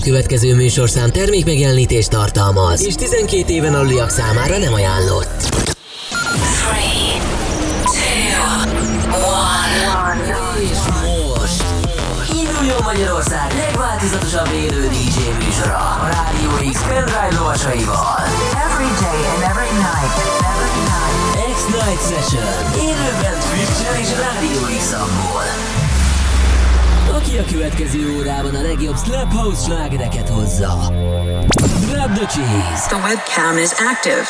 következő műsorszám termékmegjelenítést tartalmaz, és 12 éven aluliak számára nem ajánlott. 3, 2, 1. És most induljon Magyarország legváltozatosabb élő DJ műsora a Rádió X pendrive lovasaival. Every day and every night. X-Night Session. Élőben Twitch-en és Rádió X-amból. Aki a következő órában a legjobb Slap House slágereket hozza. Grab the cheese. The webcam is active.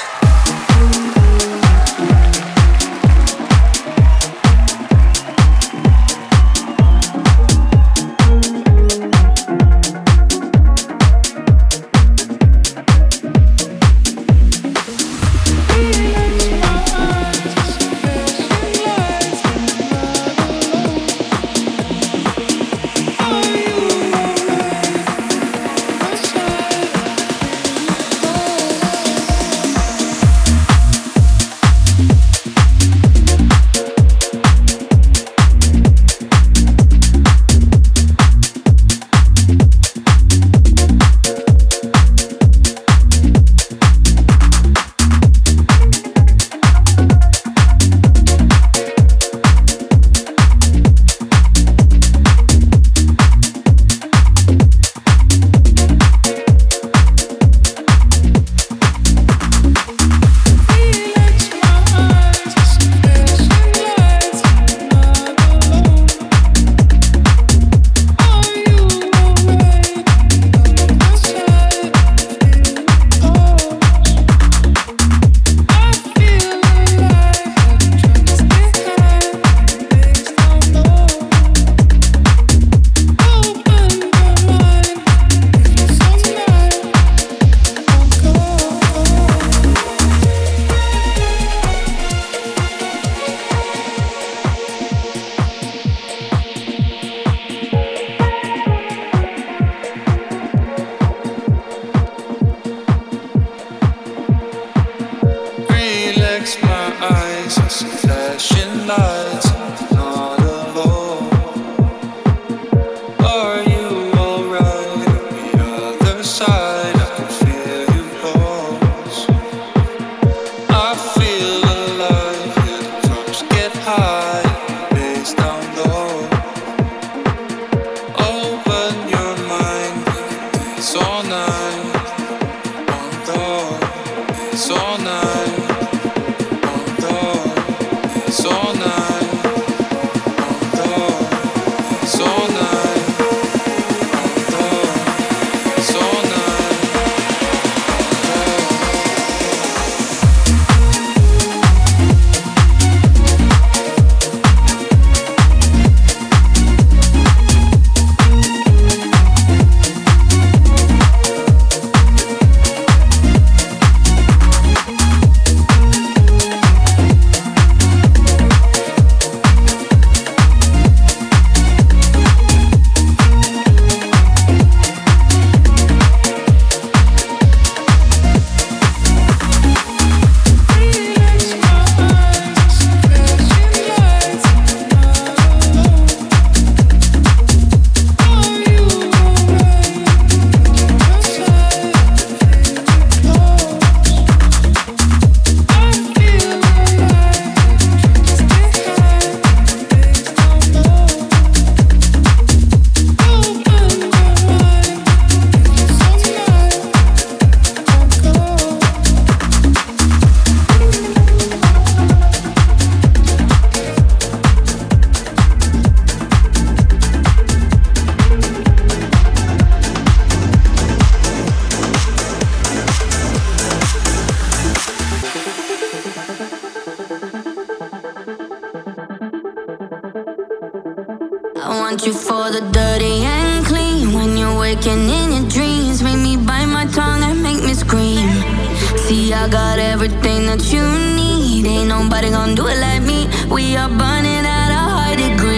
want you for the dirty and clean. When you're waking in your dreams, make me bite my tongue and make me scream. See, I got everything that you need. Ain't nobody gonna do it like me. We are burning at a high degree.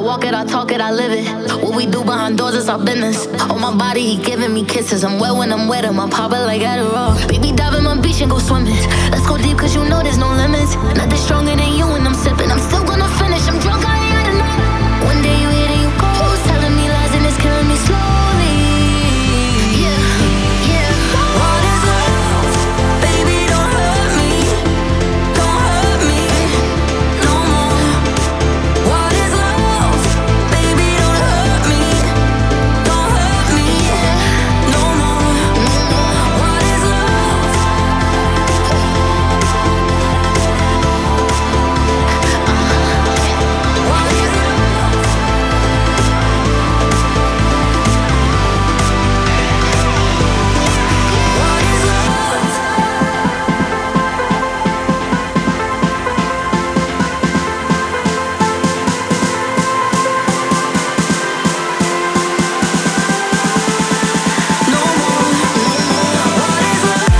walk it, I talk it, I live it. What we do behind doors is our business. On my body, he giving me kisses. I'm wet when I'm wet, I'm pop it like Adderall. Baby, dive in my beach and go swimming. Let's go deep, cause you know there's no limits. Nothing stronger than you when I'm sipping. I'm still gonna finish, I'm drunk, I ain't had enough. One day you hit and you go, telling me lies and it's killing me slowly. Yeah, yeah. What is love? Baby, don't hurt me. Don't hurt me no more. What is love? Baby, don't hurt me. Don't hurt me no more. What is love? What is love? What is love? No more. What is love?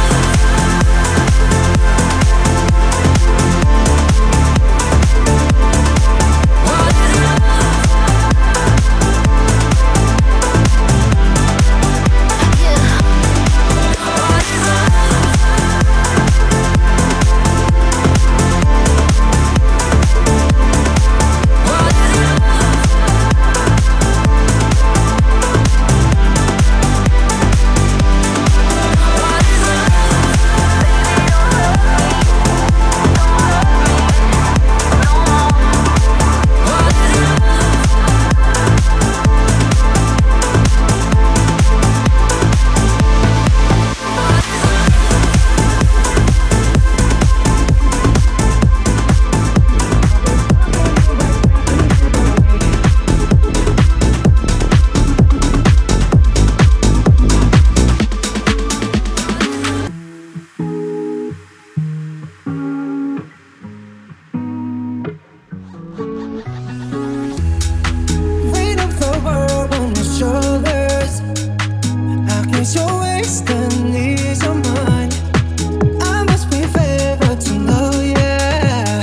What is love? Yeah. What is love? What is Weight of the world on your shoulders. I guess your waist and ease your mind. I must be favored to know, yeah.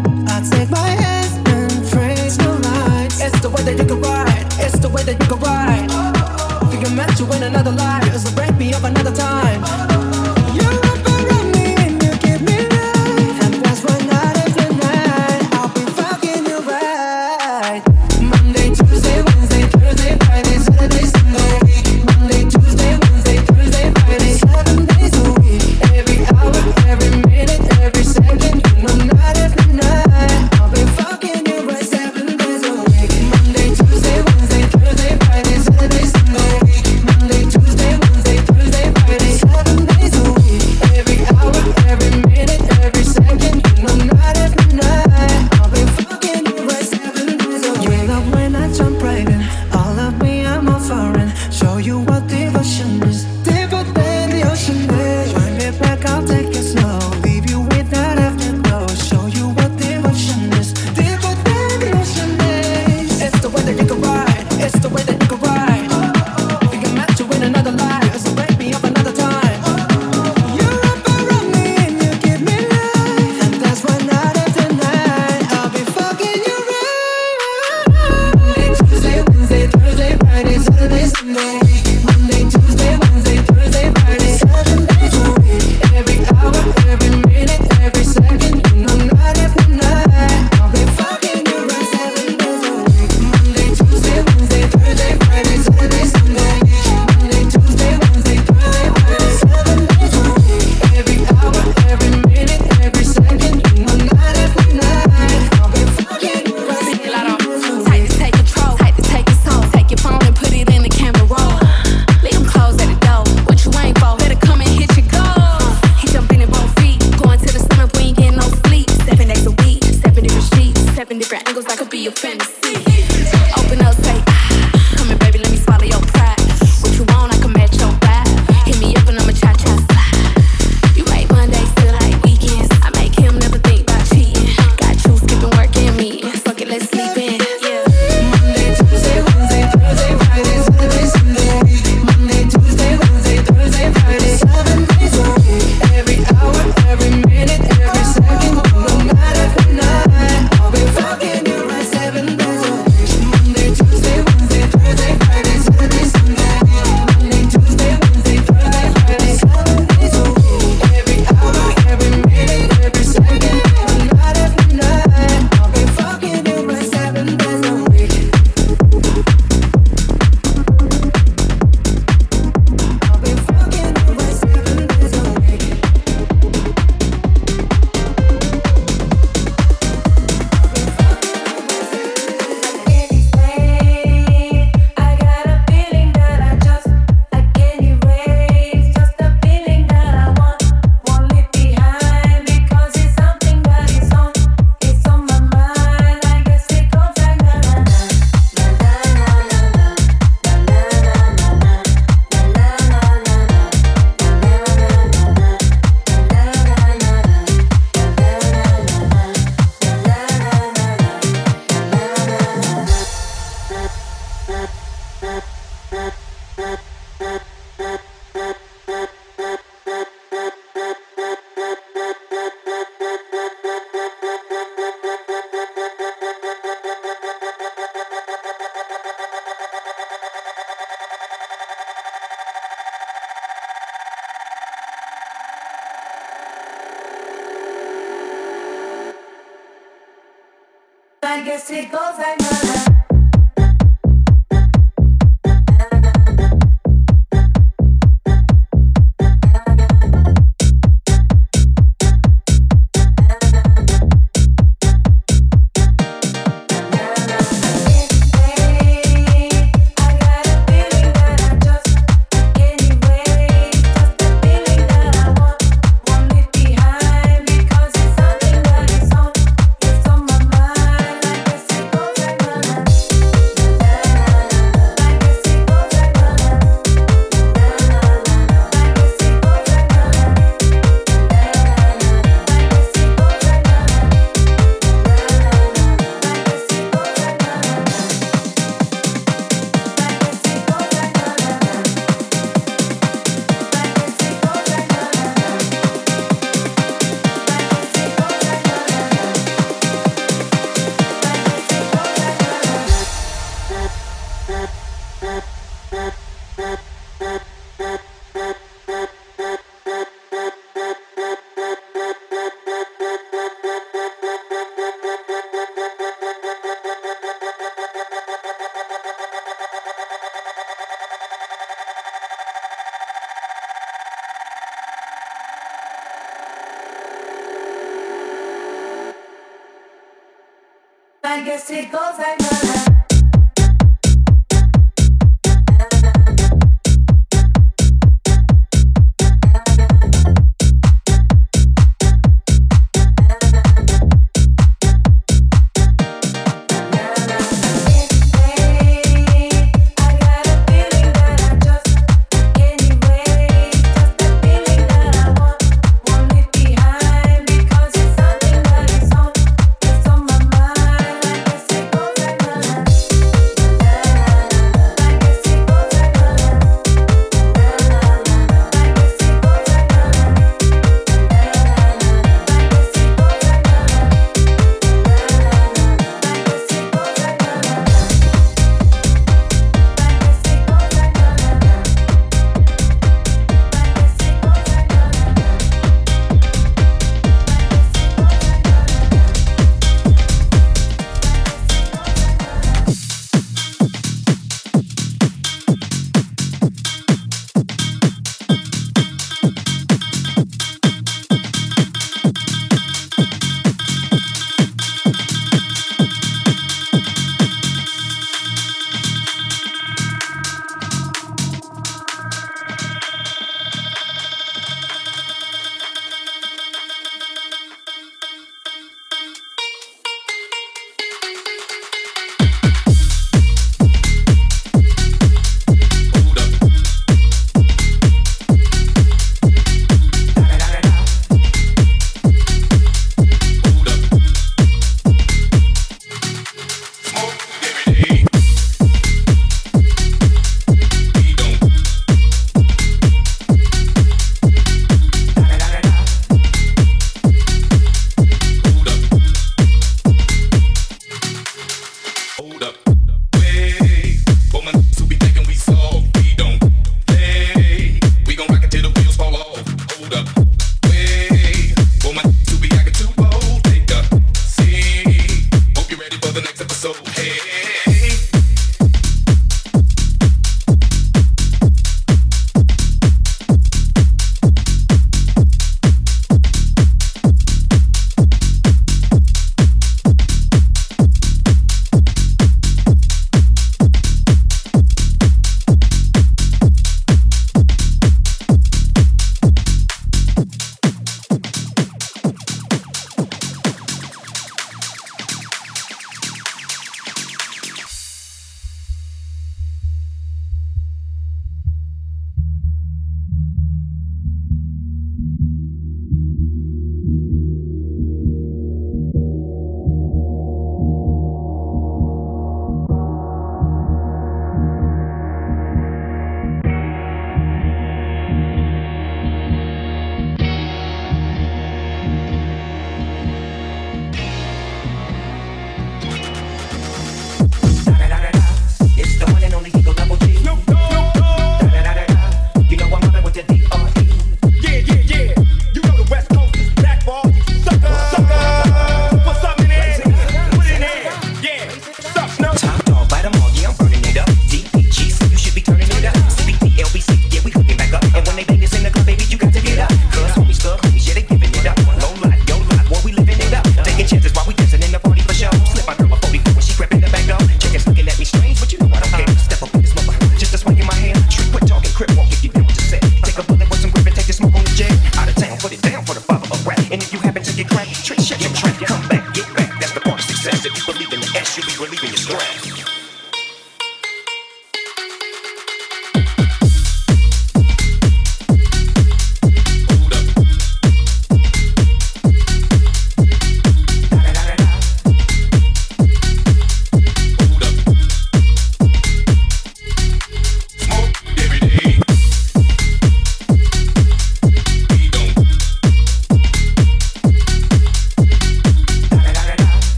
I take my hands and trace your lines. It's the way that you can ride. It's the way that you can ride. Think I met you in another life. It's a break me up another time. You're up around me and you give me life. And that's why night after night I'll be fucking you right. Monday, Tuesday, Wednesday, Thursday, Friday, Saturday, Sunday. Monday, Tuesday, Wednesday, Thursday, Friday, 7 days a week. Every hour, every minute, every second. You know, night after night I'll be fucking you right 7 days a week. Monday, Tuesday, Wednesday, Thursday, Friday, Saturday, Sunday. Monday, Tuesday, Wednesday, Thursday, Friday, 7 days a week. Every hour, every minute, every second. You know, night after night I'll be fucking you right 7 days a week. You love when I jump right in. All of me, I'm a foreign. Show you what devotion is. Deeper than the ocean is. Wind it back, I'll take it slow. Leave you with that afterglow. Show you what devotion is. Deeper than the ocean is. It's the way that you can ride. It's the way that you can ride. Think I met you in another life. So break me up another time. You're up around me and you give me life. And that's why night after night I'll be fucking you right. Monday, Tuesday, Wednesday, Thursday, Friday, Saturday, Sunday. Monday, Tuesday, Wednesday, Thursday, Friday, 7 days a week. Every hour, every minute, every second. You know, night after night I'll be fucking you right 7 days a week. Monday, Tuesday, Wednesday, Thursday, Friday, Saturday, Sunday. Monday, Tuesday, Wednesday, Thursday, Friday, 7 days a week. Every hour, every minute, every second. You know, night after night I'll be fucking you right 7 days a week. Tight to take control, tight to take it soul. Take your phone and put it in the camera roll. Leave them clothes at the door. What you ain't for? Better come and hit your goal. He jumping in both feet, going to the stomach. We ain't getting no sleep. 7 days a week, 7 different sheets, 7 different angles. That could be your fantasy. Open up, say, come here, baby, let me swallow your pride. What you want, I can match your vibe. Hit me up and I'ma cha-cha slide. You make Mondays feel like weekends. I make him never think about cheating. Got you skipping work and meetings. Fuck it, let's sleep in. Yeah. Monday, Tuesday, Wednesday, Thursday, Friday, Saturday, Sunday. Monday, Tuesday, Wednesday, Thursday, Friday, 7 days a week. Every hour, every minute, every second. You know, night after night I'll be fucking you right 7 days I guess it goes like that.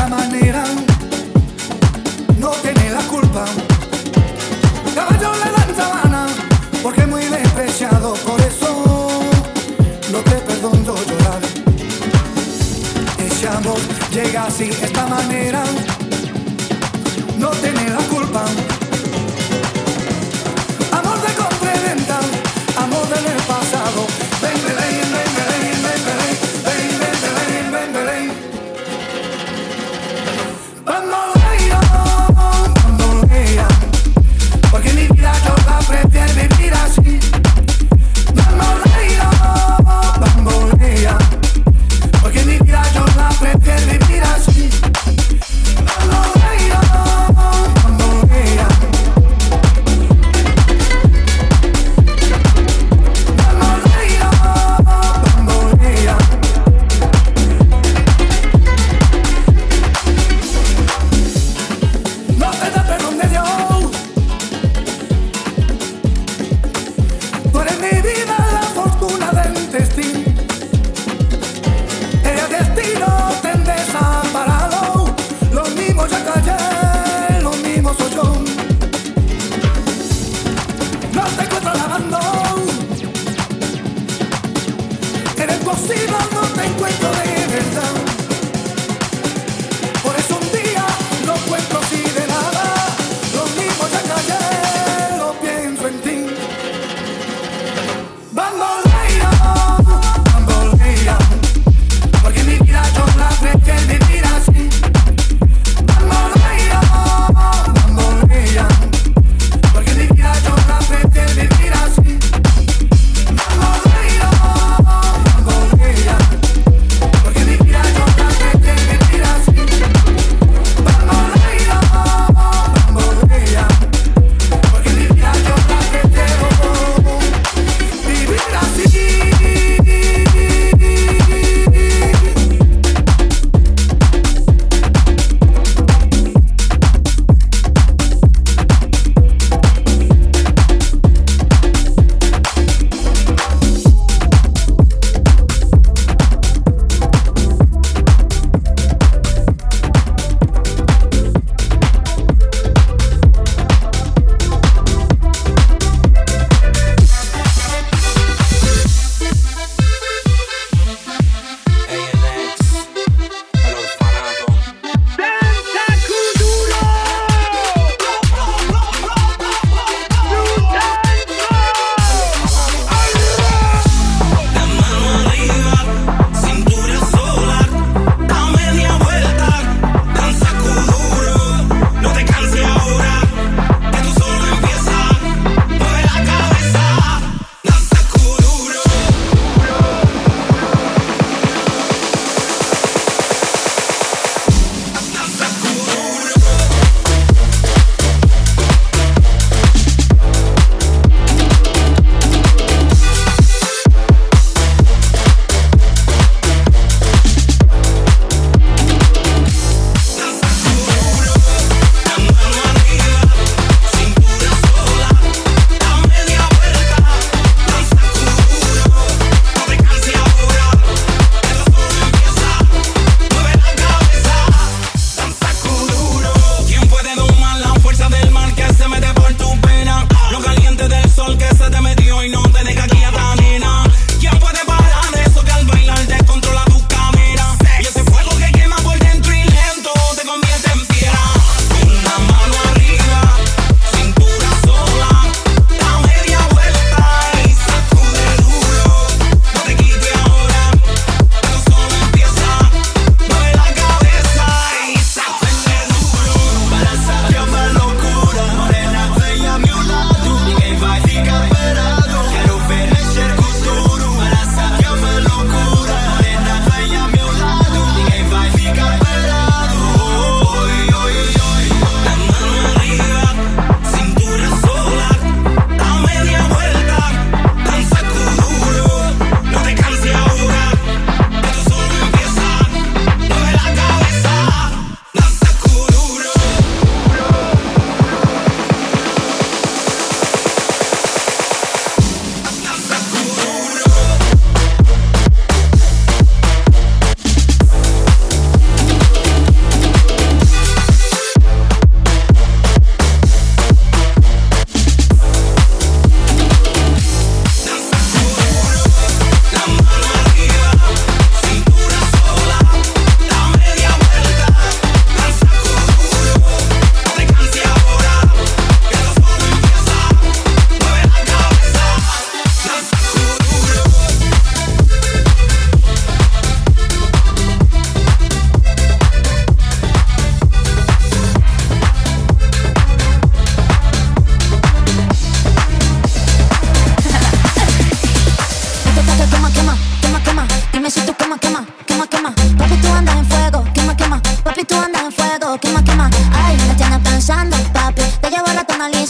esta manera, no tiene la culpa. Caballo le dan sabana, porque es muy despreciado, por eso no te perdono llorar. Ese amor llega así, esta manera, no tiene la culpa. Amor de compra y venta, amor del pasado. Ven, ven, ven, ven, ven, ven, ven, ven, ven, ven, ven, ven. Bambolea, porque mi vida yo la prefiero vivir así. Bambolea, bambolea, porque mi vida yo la prefiero vivir así. Bambolea, bambolea. Bambolea,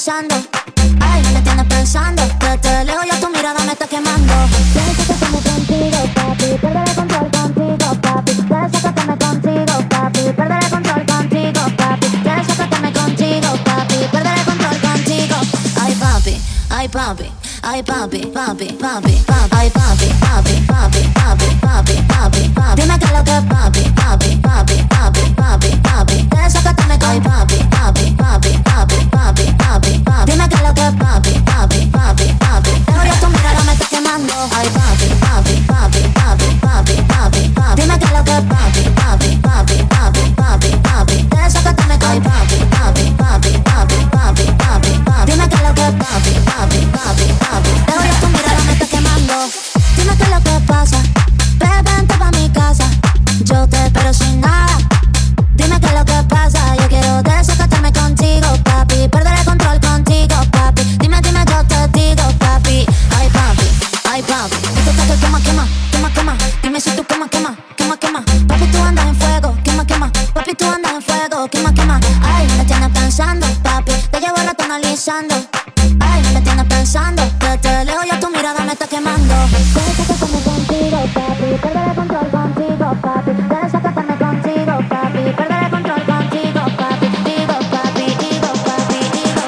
analizando. Ay, me tienes pensando. Desde lejos ya tu mirada me está quemando. Pienso que estamos contigo, papi. Perder el control contigo, papi. Desacátame contigo, papi. Perder el control contigo, papi. Desacátame contigo, papi. Perder el control contigo. Ay, papi, ay, papi. Ay, papi, papi, papi, papi. Ay, papi, papi, papi, papi, papi, papi, papi. Dime qué es lo que es papi, papi, papi, papi, papi, papi. Desacátame con ay, papi, papi, papi, papi, papi, papi, papi. Dime qué es lo que es papi, papi, papi, papi. Pero ya tu mirada me está quemando. Ay, papi, papi, papi, papi, papi, papi, papi. Dime qué es lo que es papi, papi, papi, papi, papi, papi. Desacátame con ay, papi, papi, papi, papi, papi, papi, papi. Dime qué es lo que es papi, papi, papi, papi. Pero ya tu mirada me está quemando. Dime qué es lo que pasa. Vente pa' mi casa. Yo te espero sin nada. Dime qué es lo que pasa. Yo quiero desacatarme contigo, papi. Perder el control contigo, papi. Dime, dime, yo te digo, papi. Ay, papi, ay, papi. Esto está que quema, quema, quema, quema. Dime si tú quema, quema, quema, quema. Papi, tú andas en fuego, quema, quema. Papi, tú andas en fuego, quema, quema. Ay, me tienes pensando, papi. Te llevo el rato analizando. Ay, me tienes pensando. Desde lejos ya tu mirada me está quemando. Desacatarme contigo, papi. Perder el control contigo, papi. Desacatarme contigo, papi. Perder el control contigo, papi. Digo, papi, digo, papi, digo,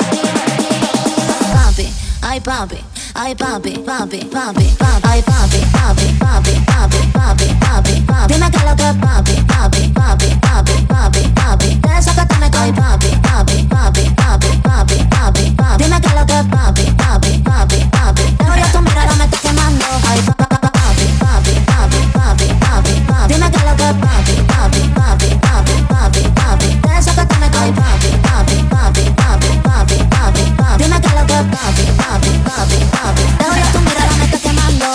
digo. Papi, ay, papi. Ay, papi, papi, papi, papi. Ay, papi, papi, papi, papi, papi, papi, papi. Dime qué es lo que es papi, papi, papi, papi, papi, papi. Desacátame con ay, papi, papi, papi, papi, papi, papi, papi. Dime qué es lo que es papi, papi, papi, papi. Pero ya tu mirada me está quemando. Ay, papi, papi, papi, papi, papi, papi, papi. Dime qué es lo que es papi, papi, papi, papi, papi, papi. Desacátame con ay, papi, papi, papi, papi, papi, papi, papi. Dime qué es lo que es papi, papi, papi, papi. Pero ya tu mirada me está quemando.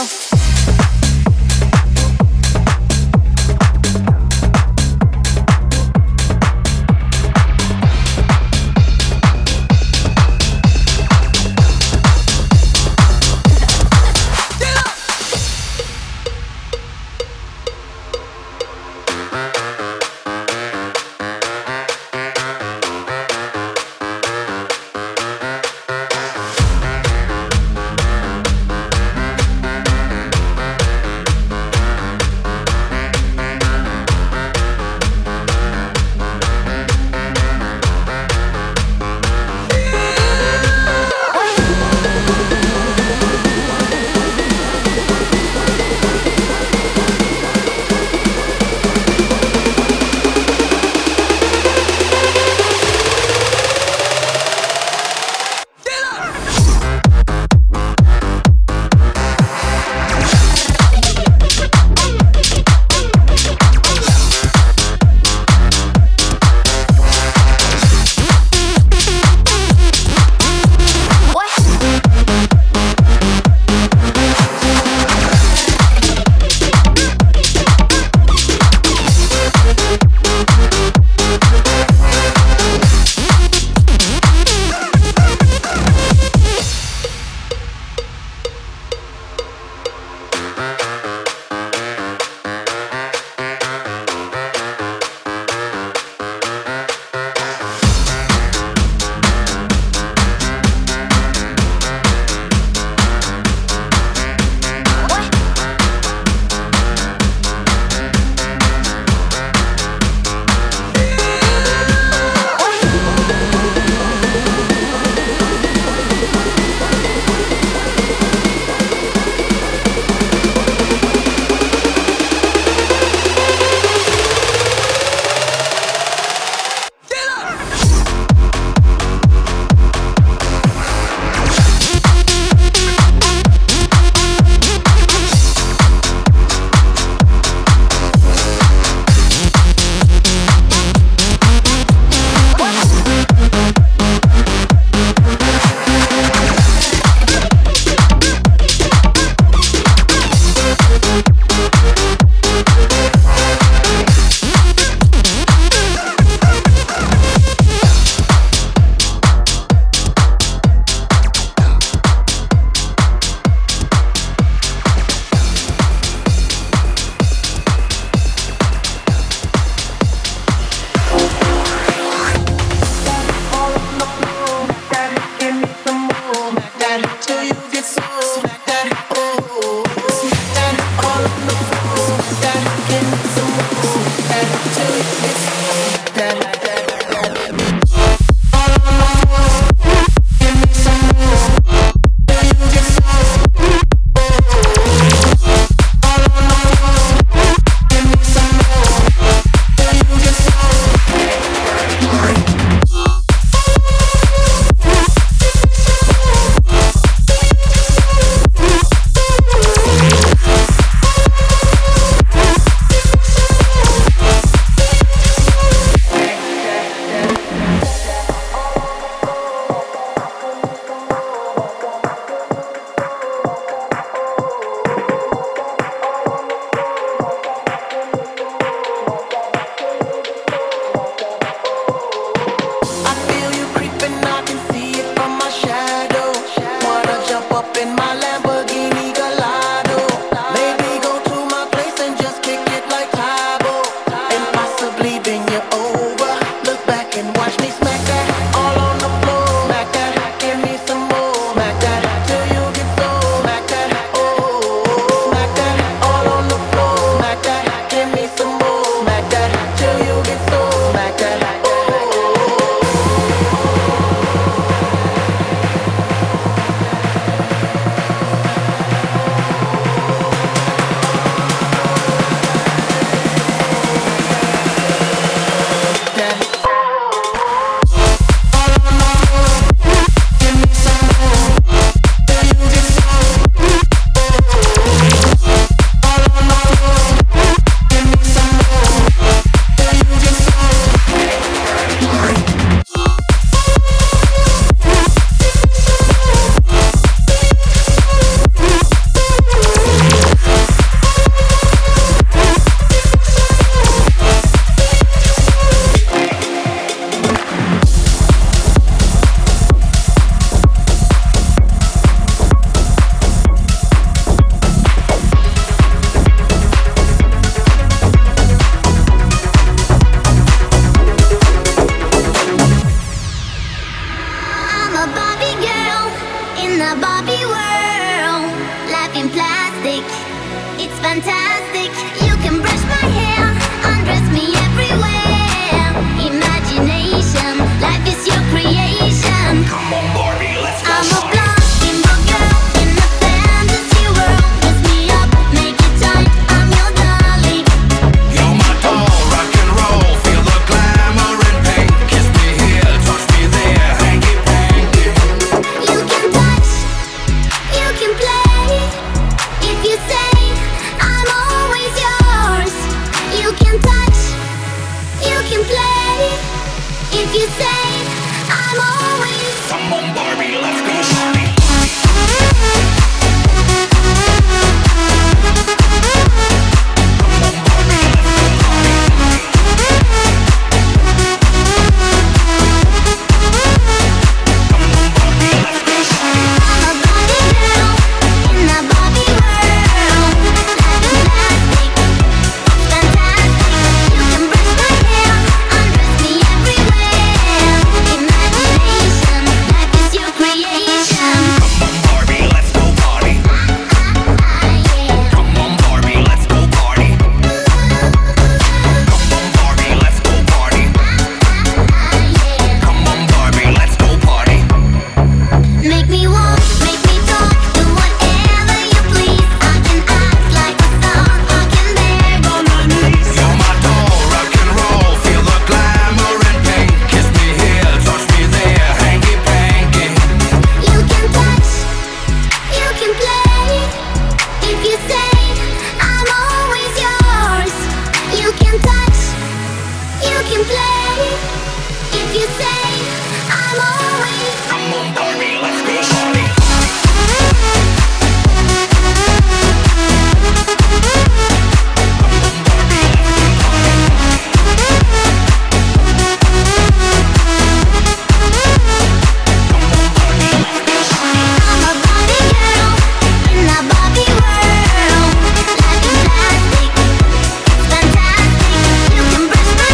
If you say I'm always, come on Barbie, let's go party.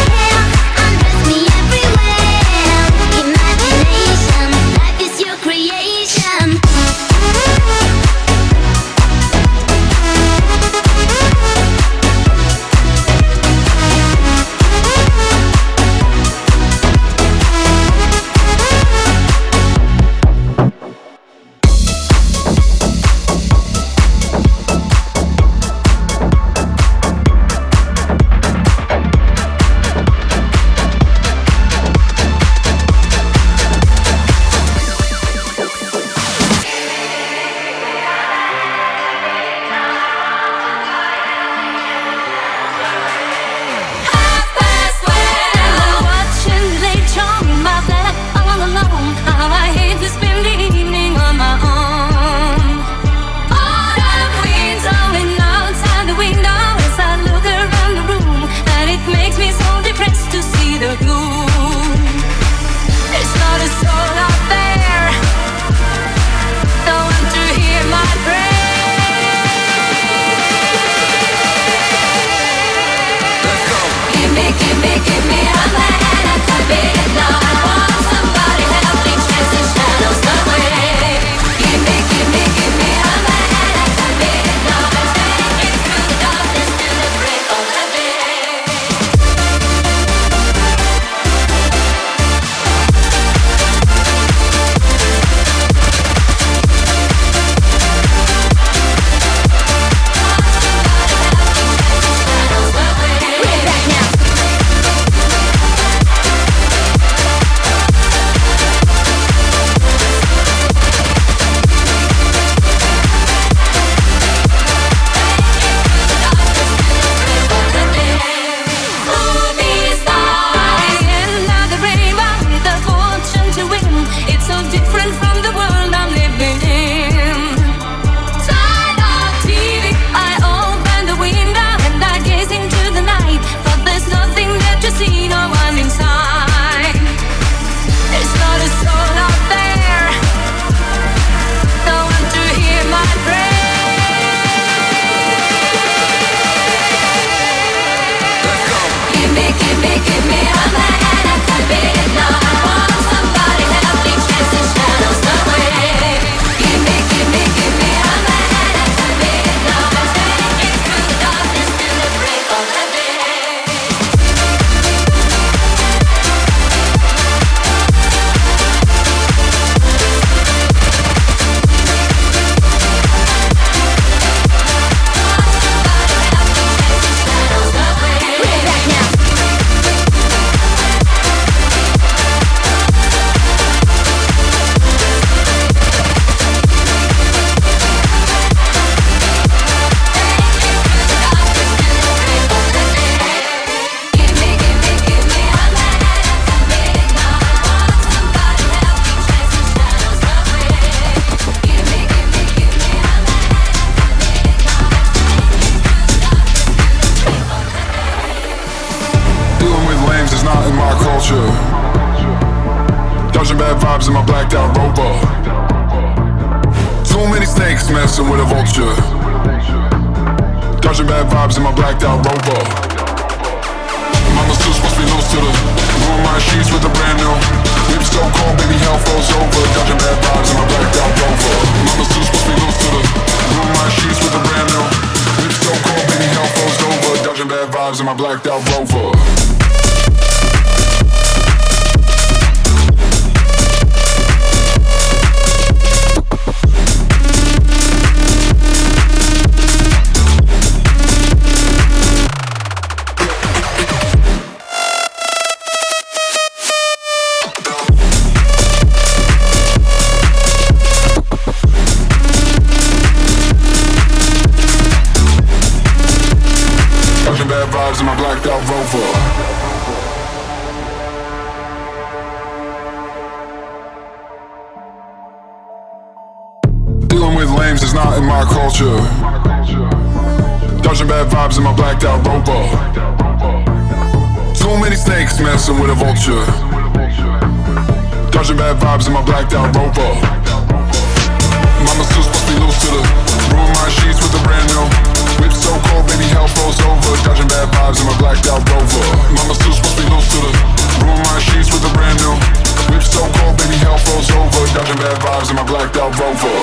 create Dodging bad vibes in my blacked out Rover. Too many snakes messing with a vulture. Dodging bad vibes in my blacked out Rover. Mama's too supposed to be loose to the ruin my sheets with a brand new whip so cold, baby, hell froze over. Dodging bad vibes in my blacked out Rover. Mama's too supposed to be loose to the ruin my sheets with a brand new whip so cold, baby, hell froze over. Dodging bad vibes in my blacked out Rover. In my blacked out Rover. Dealing with lames is not in my culture. Dodging bad vibes in my blacked out Rover. Too many snakes messing with a vulture. Dodging bad vibes in my blacked out Rover. Mama's too supposed to be loose to the ruin my sheets with a brand new whip so cold, baby, hell froze over. Dodging bad vibes in my blacked out Rover. Mama's too supposed to be loose to the ruin my sheets with a brand new whip so cold, baby, hell froze over. Dodging bad vibes in my blacked out Rover.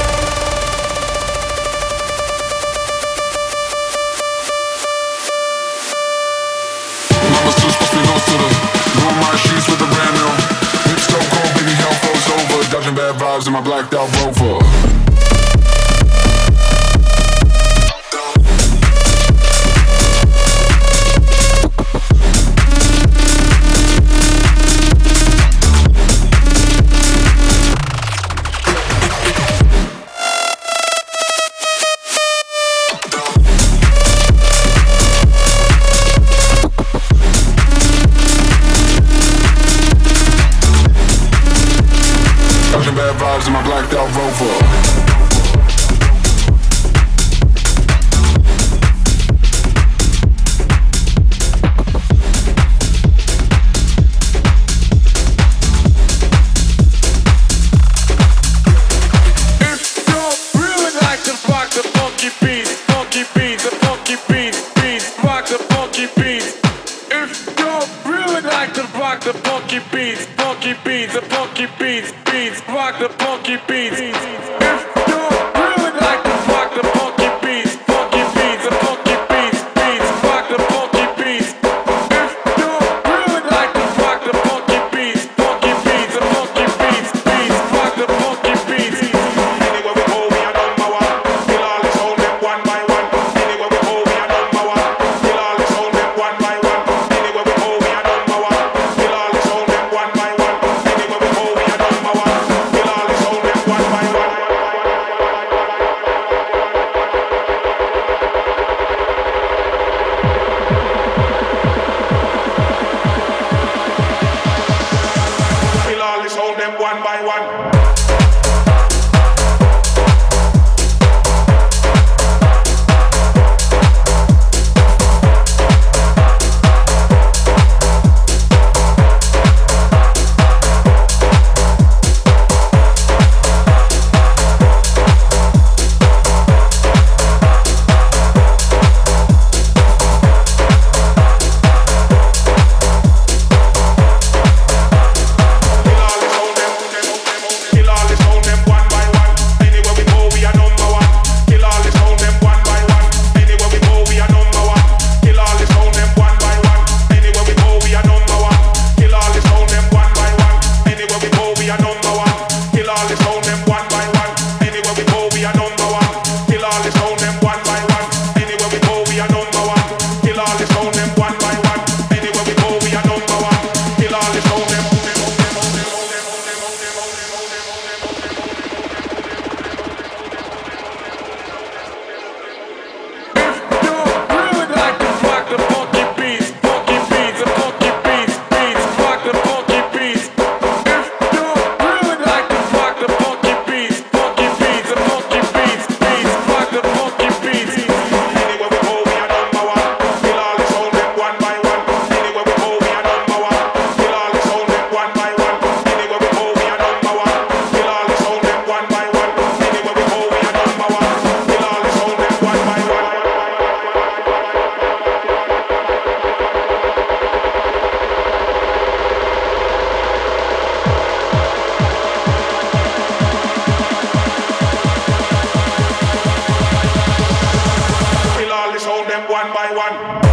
Mama's too supposed to be loose to the ruin my sheets with a brand new whip so cold, baby, hell froze over. Dodging bad vibes in my blacked out Rover. In my blacked out Rover. one.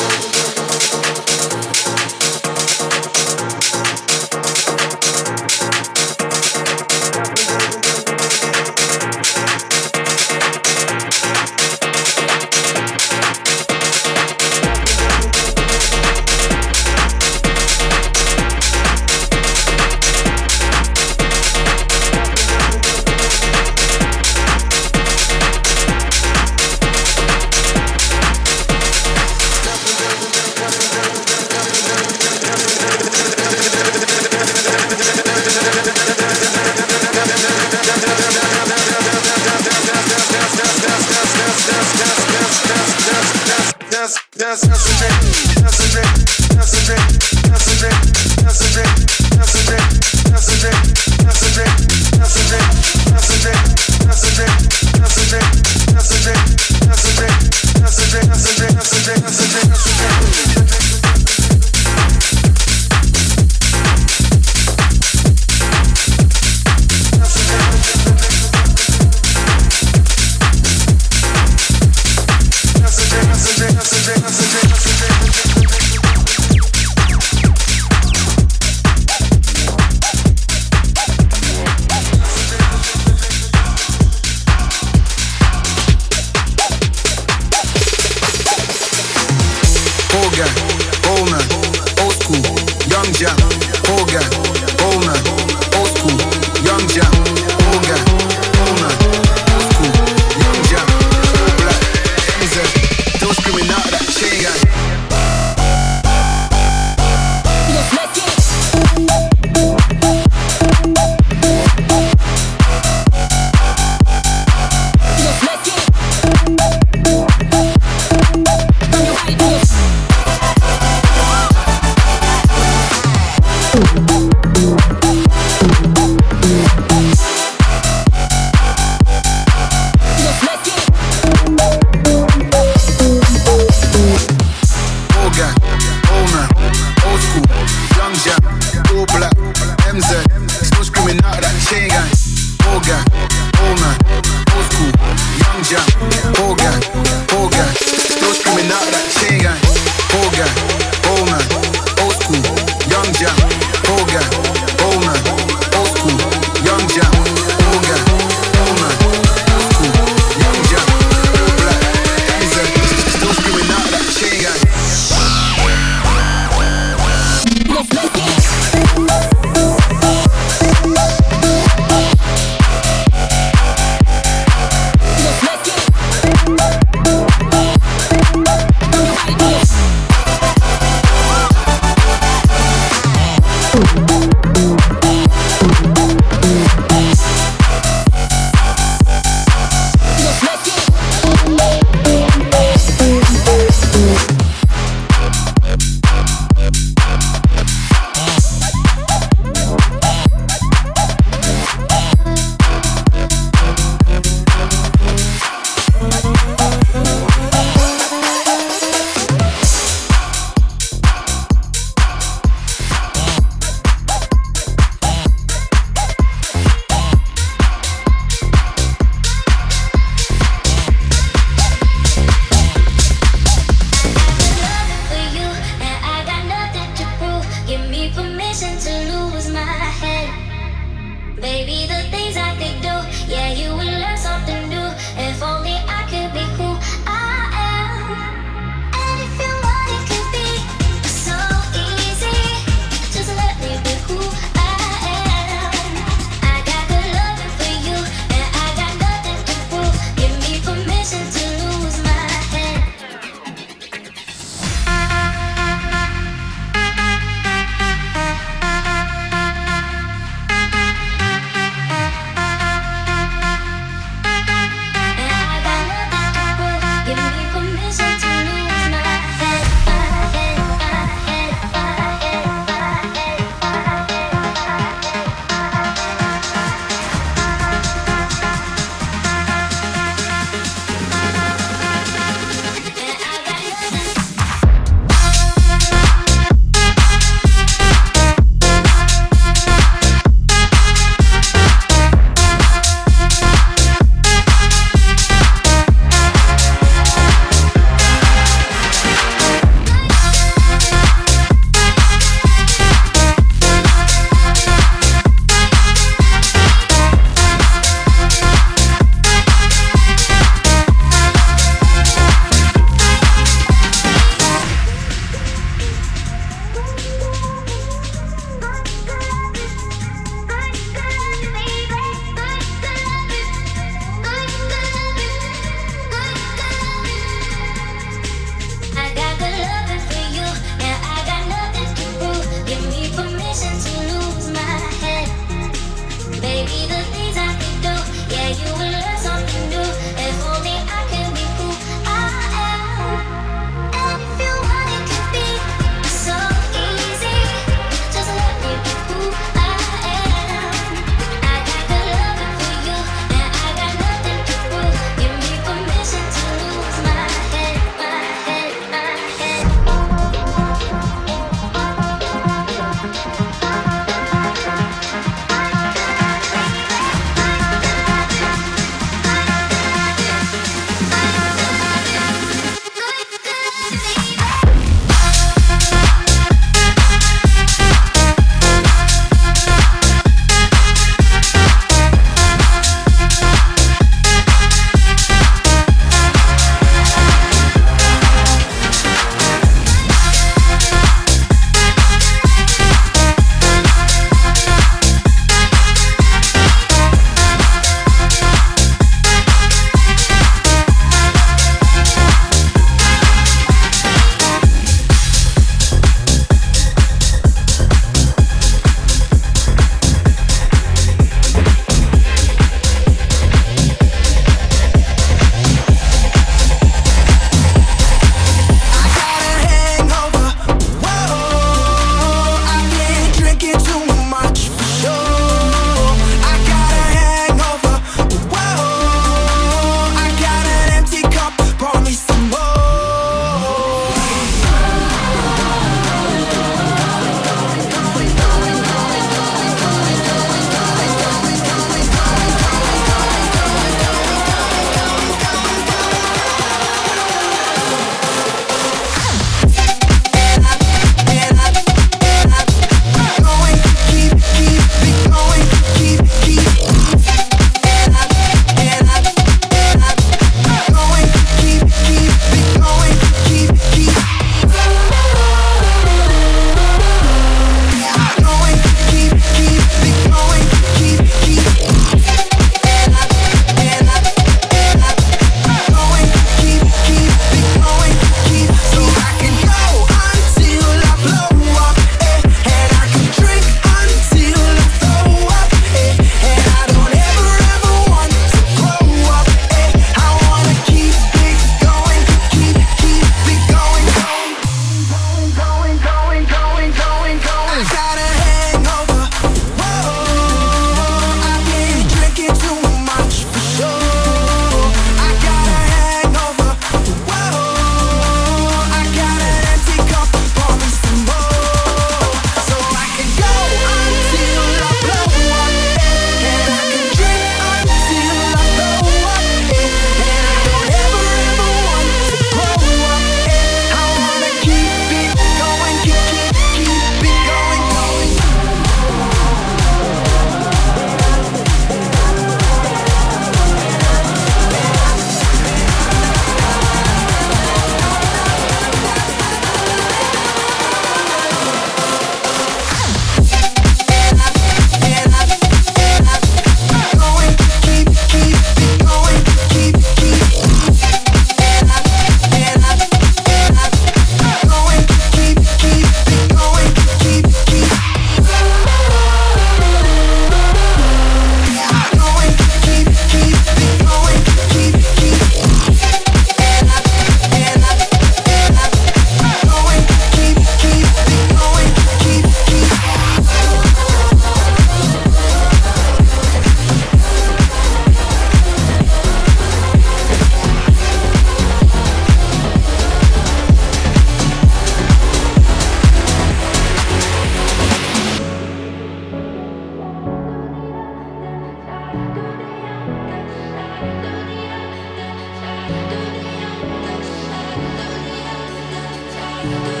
do